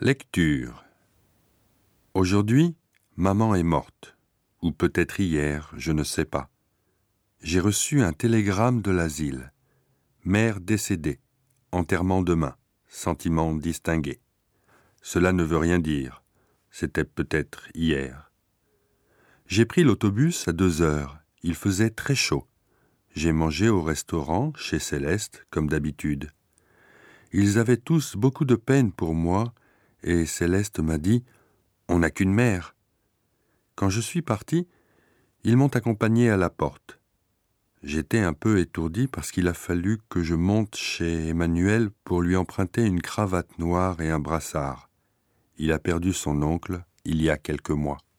Lecture. Aujourd'hui, maman est morte, ou peut-être hier, je ne sais pas. J'ai reçu un télégramme de l'asile. Mère décédée, enterrement demain, sentiment distingué. Cela ne veut rien dire, c'était peut-être hier. J'ai pris l'autobus à 2h, il faisait très chaud. J'ai mangé au restaurant, chez Céleste, comme d'habitude. Ils avaient tous beaucoup de peine pour moi, et Céleste m'a dit « On n'a qu'une mère ». Quand je suis parti, ils m'ont accompagné à la porte. J'étais un peu étourdi parce qu'il a fallu que je monte chez Emmanuel pour lui emprunter une cravate noire et un brassard. Il a perdu son oncle il y a quelques mois.